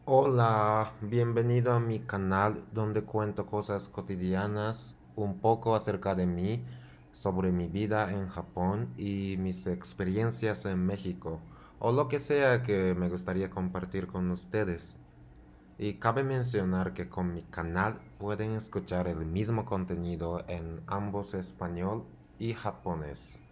Hola, bienvenido a mi canal donde cuento cosas cotidianas, un poco acerca de mí, sobre mi vida en Japón y mis experiencias en México, o lo que sea que me gustaría compartir con ustedes. Y cabe mencionar que con mi canal pueden escuchar el mismo contenido en ambos español y japonés.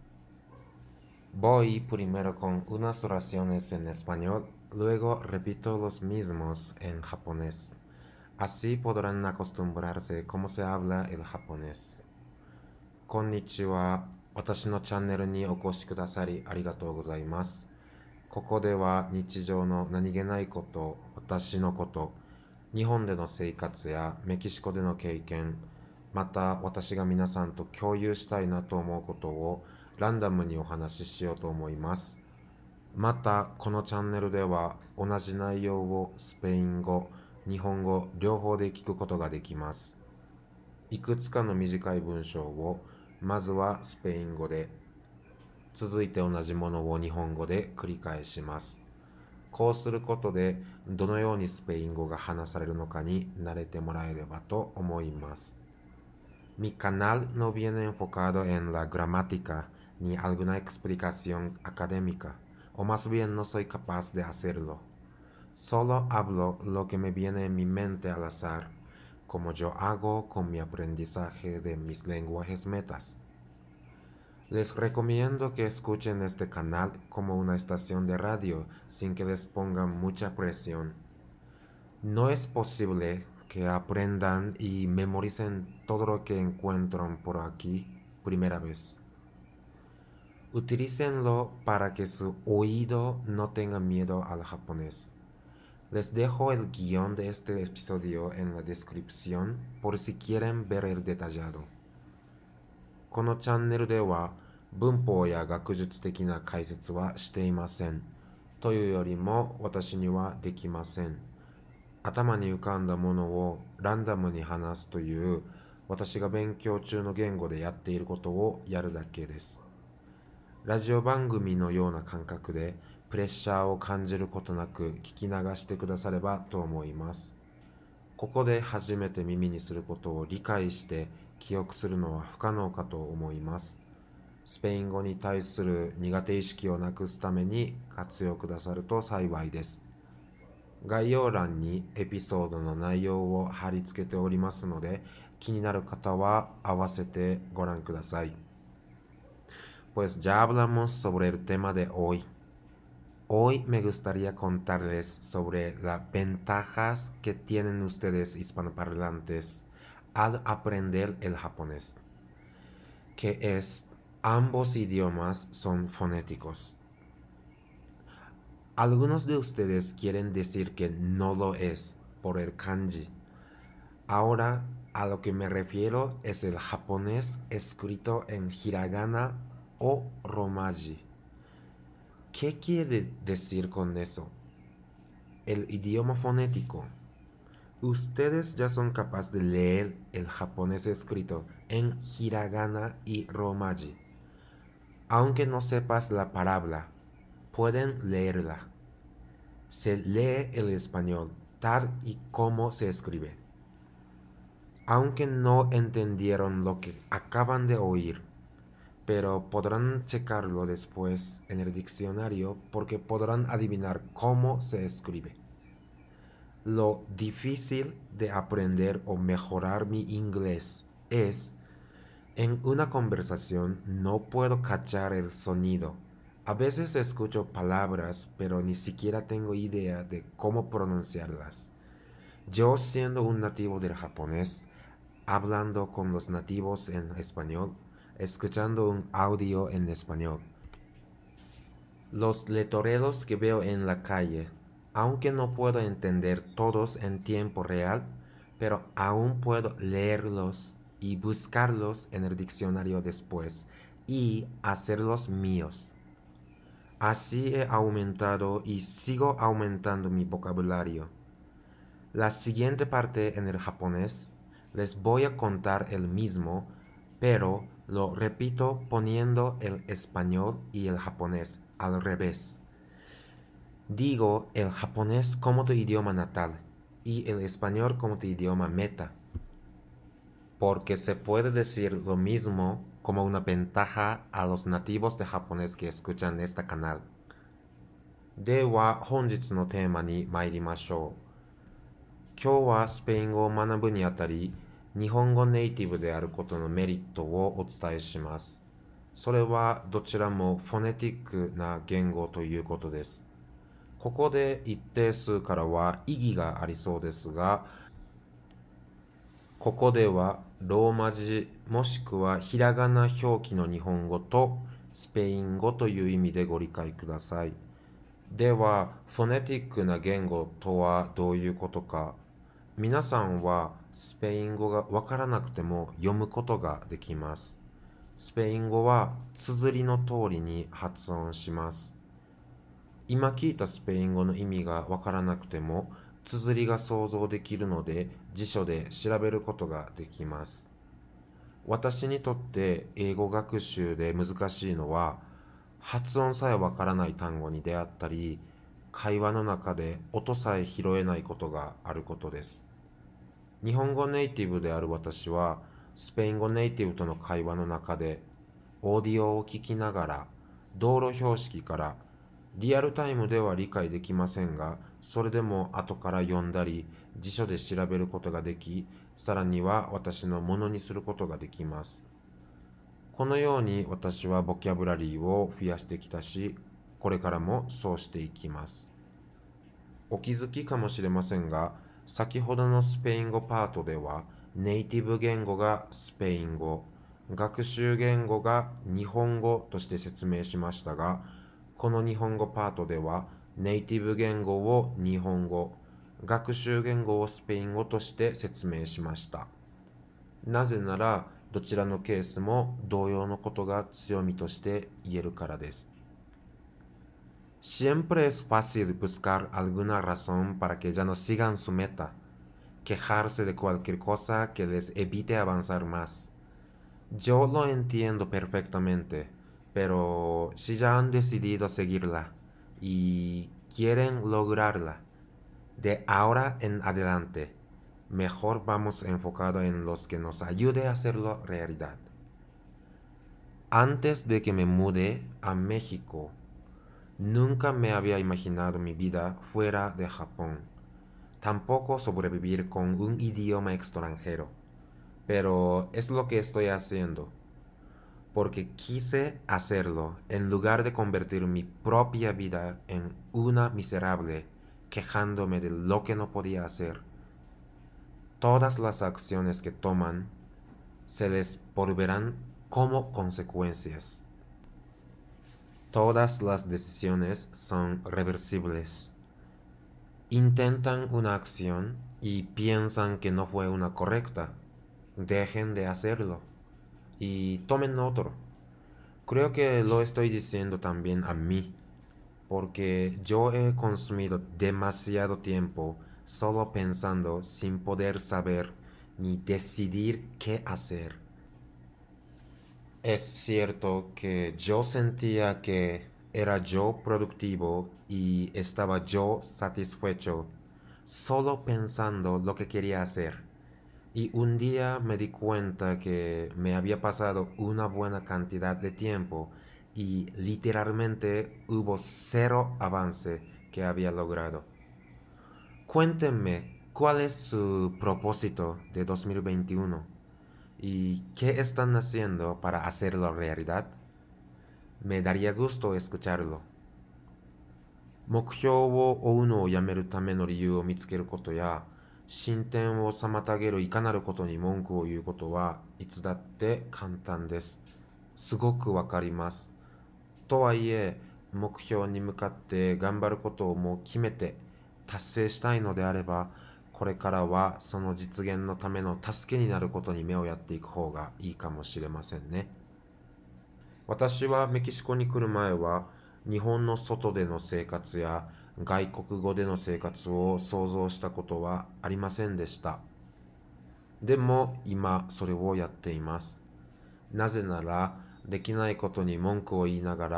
Voy primero con unas oraciones en español, luego repito los mismos en japonés. Así podrán acostumbrarse cómo se habla el japonés. Konnichiwa, watashi no channel ni okoshi kudasari arigatou gozaimasu. ここでは日常の何気ないこと、私のこと、日本での生活やメキシコでの経験、また私が皆さんと共有したいなと思うことをランダムにお話ししようと思います。また、このチャンネルでは同じ内容をスペイン語、日本語両方で聞くことができます。いくつかの短い文章をまずはスペイン語で、続いて同じものを日本語で繰り返します。こうすることでどのようにスペイン語が話されるのかに慣れてもらえればと思います。Mi canal no viene enfocado en la gramática ni alguna explicación académica, o más bien no soy capaz de hacerlo. Solo hablo lo que me viene en mi mente al azar, como yo hago con mi aprendizaje de mis lenguajes metas. Les recomiendo que escuchen este canal como una estación de radio sin que les pongan mucha presión. No es posible que aprendan y memoricen todo lo que encuentran por aquí primera vez. Utilícenlo para que su oído no tenga miedo al japonés. Les dejo el guión de este episodio en la descripción por si quieren ver el detallado. このチャンネルでは文法や学術的な解説はしていません。というよりも私にはできません。頭に浮かんだものをランダムに話すという私が勉強中の言語でやっていることをやるだけです。ラジオ番組のような感覚でプレッシャーを感じることなく聞き流してくださればと思います。ここで初めて耳にすることを理解して記憶するのは不可能かと思います。スペイン語に対する苦手意識をなくすために活用くださると幸いです。概要欄にエピソードの内容を貼り付けておりますので、気になる方は合わせてご覧ください。Pues ya hablamos sobre el tema de hoy. Hoy me gustaría contarles sobre las ventajas que tienen ustedes hispanoparlantes al aprender el japonés, que es ambos idiomas son fonéticos. Algunos de ustedes quieren decir que no lo es por el kanji. Ahora a lo que me refiero es el japonés escrito en hiragana o romaji. ¿Qué quiere decir con eso? El idioma fonético. Ustedes ya son capaces de leer el japonés escrito en hiragana y romaji. Aunque no sepas la palabra, pueden leerla. Se lee el español tal y como se escribe. Aunque no entendieron lo que acaban de oír, pero podrán checarlo después en el diccionario porque podrán adivinar cómo se escribe. Lo difícil de aprender o mejorar mi inglés es, en una conversación no puedo cachar el sonido. A veces escucho palabras, pero ni siquiera tengo idea de cómo pronunciarlas. Yo siendo un nativo del japonés, hablando con los nativos en español, escuchando un audio en español. Los letreros que veo en la calle, aunque no puedo entender todos en tiempo real, pero aún puedo leerlos y buscarlos en el diccionario después y hacerlos míos. Así he aumentado y sigo aumentando mi vocabulario. La siguiente parte en el japonés les voy a contar el mismo, pero lo repito poniendo el español y el japonés al revés. Digo el japonés como tu idioma natal y el español como tu idioma meta, porque se puede decir lo mismo como una ventaja a los nativos de japonés que escuchan este canal. では、本日のテーマに参りましょう。今日はスペイン語を学ぶにあたり、日本語ネイティブであることのメリットをお伝えします。それはどちらもフォネティックな言語ということです。ここで一定数からは意義がありそうですが、ここではローマ字もしくはひらがな表記の日本語とスペイン語という意味でご理解ください。では、フォネティックな言語とはどういうことか。皆さんはスペイン語がわからなくても読むことができます。スペイン語は綴りの通りに発音します。今聞いたスペイン語の意味がわからなくても、綴りが想像できるので辞書で調べることができます。私にとって英語学習で難しいのは、発音さえわからない単語に出会ったり、会話の中で音さえ拾えないことがあることです。日本語ネイティブである私は、スペイン語ネイティブとの会話の中で、オーディオを聞きながら、道路標識からリアルタイムでは理解できませんが、それでも後から読んだり、辞書で調べることができ、さらには私のものにすることができます。このように私はボキャブラリーを増やしてきたし、これからもそうしていきます。お気づきかもしれませんが、先ほどのスペイン語パートでは、ネイティブ言語がスペイン語、学習言語が日本語として説明しましたが、この日本語パートでは、ネイティブ言語を日本語、学習言語をスペイン語として説明しました。なぜなら、どちらのケースも同様のことが強みとして言えるからです。Siempre es fácil buscar alguna razón para que ya no sigan su meta, quejarse de cualquier cosa que les evite avanzar más. Yo lo entiendo perfectamente, pero si ya han decidido seguirla y quieren lograrla, de ahora en adelante, mejor vamos enfocado en los que nos ayude a hacerlo realidad. Antes de que me mude a México, nunca me había imaginado mi vida fuera de Japón, tampoco sobrevivir con un idioma extranjero, pero es lo que estoy haciendo, porque quise hacerlo en lugar de convertir mi propia vida en una miserable, quejándome de lo que no podía hacer. Todas las acciones que toman se les volverán como consecuencias. Todas las decisiones son reversibles. Intentan una acción y piensan que no fue una correcta. Dejen de hacerlo y tomen otro. Creo que lo estoy diciendo también a mí, porque yo he consumido demasiado tiempo solo pensando sin poder saber ni decidir qué hacer. Es cierto que yo sentía que era yo productivo y estaba yo satisfecho solo pensando lo que quería hacer. Y un día me di cuenta que me había pasado una buena cantidad de tiempo y literalmente hubo cero avance que había logrado. Cuéntenme cuál es su propósito de 2021 y qué están haciendo para hacerlo realidad. Me daría gusto escucharlo. 目標を追うのをやめるための理由を見つけることや、進展を妨げるいかなることに文句を言うことはいつだって簡単です。すごくわかります。とはいえ、目標に向かって頑張ることをもう決めて達成したいのであれば、これからはその実現のための助けになることに目をやっていく方がいいかもしれませんね。私はメキシコに来る前は、日本の外での生活や外国語での生活を想像したことはありませんでした。でも今それをやっています。なぜなら、できないことに文句を言いながら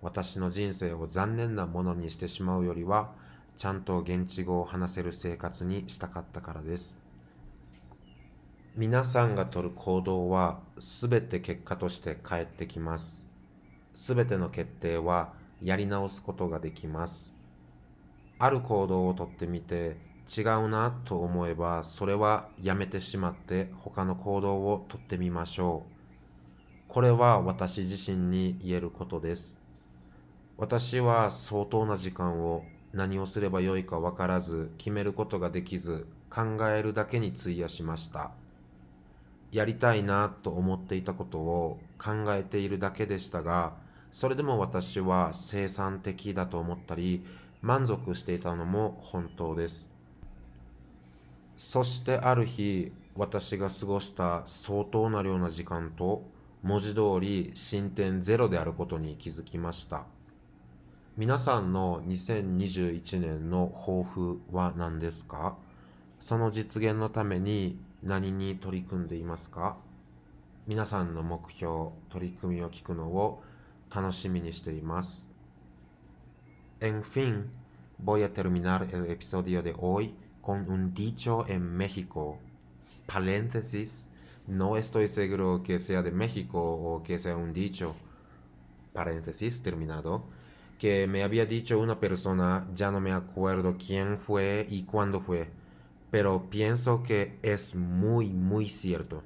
私の人生を残念なものにしてしまうよりは、ちゃんと現地語を話せる生活にしたかったからです。皆さんが取る行動はすべて結果として返ってきます。すべての決定はやり直すことができます。ある行動をとってみて違うなと思えば、それはやめてしまって他の行動をとってみましょう。これは私自身に言えることです。私は相当な時間を何をすればよいか分からず、決めることができず、考えるだけに費やしました。やりたいなと思っていたことを考えているだけでしたが、それでも私は生産的だと思ったり、満足していたのも本当です。そしてある日、私が過ごした相当な量の時間と、文字通り進展ゼロであることに気づきました。皆さんの2021年の抱負は何ですか？その実現のために何に取り組んでいますか？皆さんの目標、取り組みを聞くのを楽しみにしています。En fin, voy a terminar el episodio de hoy con un dicho en México. Paréntesis, no estoy seguro que sea de México o que sea un dicho. Paréntesis, terminado. Que me había dicho una persona, ya no me acuerdo quién fue y cuándo fue, pero pienso que es muy, muy cierto.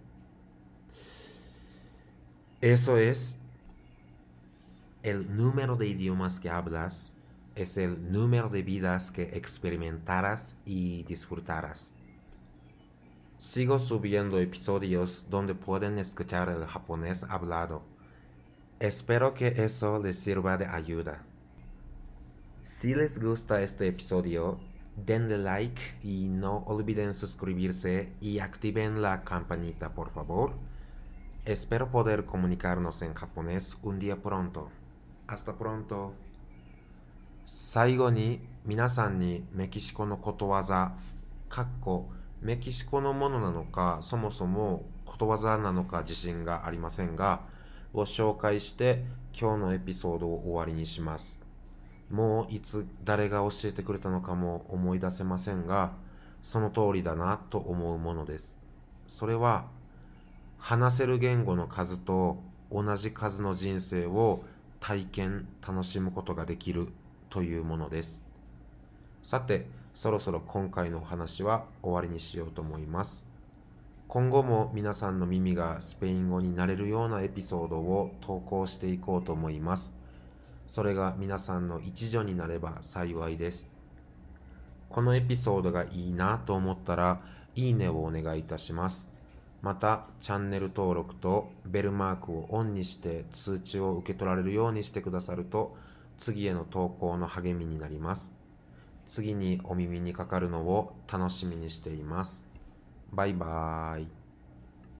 Eso es, el número de idiomas que hablas es el número de vidas que experimentarás y disfrutarás. Sigo subiendo episodios donde pueden escuchar el japonés hablado. Espero que eso les sirva de ayuda. Si les gusta este episodio, denle like y no olviden suscribirse y activen la campanita, por favor. Espero poder comunicarnos en japonés un día pronto. Hasta pronto. 最後に皆さんにメキシコのことわざ、メキシコのものなのか、そもそもことわざなのか自信がありませんが、を紹介して今日のエピソードを終わりにします。もういつ誰が教えてくれたのかも思い出せませんが、その通りだなと思うものです。それは、話せる言語の数と同じ数の人生を体験、楽しむことができるというものです。さて、そろそろ今回のお話は終わりにしようと思います。今後も皆さんの耳がスペイン語になれるようなエピソードを投稿していこうと思います。それが皆さんの一助になれば幸いです。このエピソードがいいなと思ったら、いいねをお願いいたします。また、チャンネル登録とベルマークをオンにして通知を受け取られるようにしてくださると、次への投稿の励みになります。次にお耳にかかるのを楽しみにしています。バイバーイ。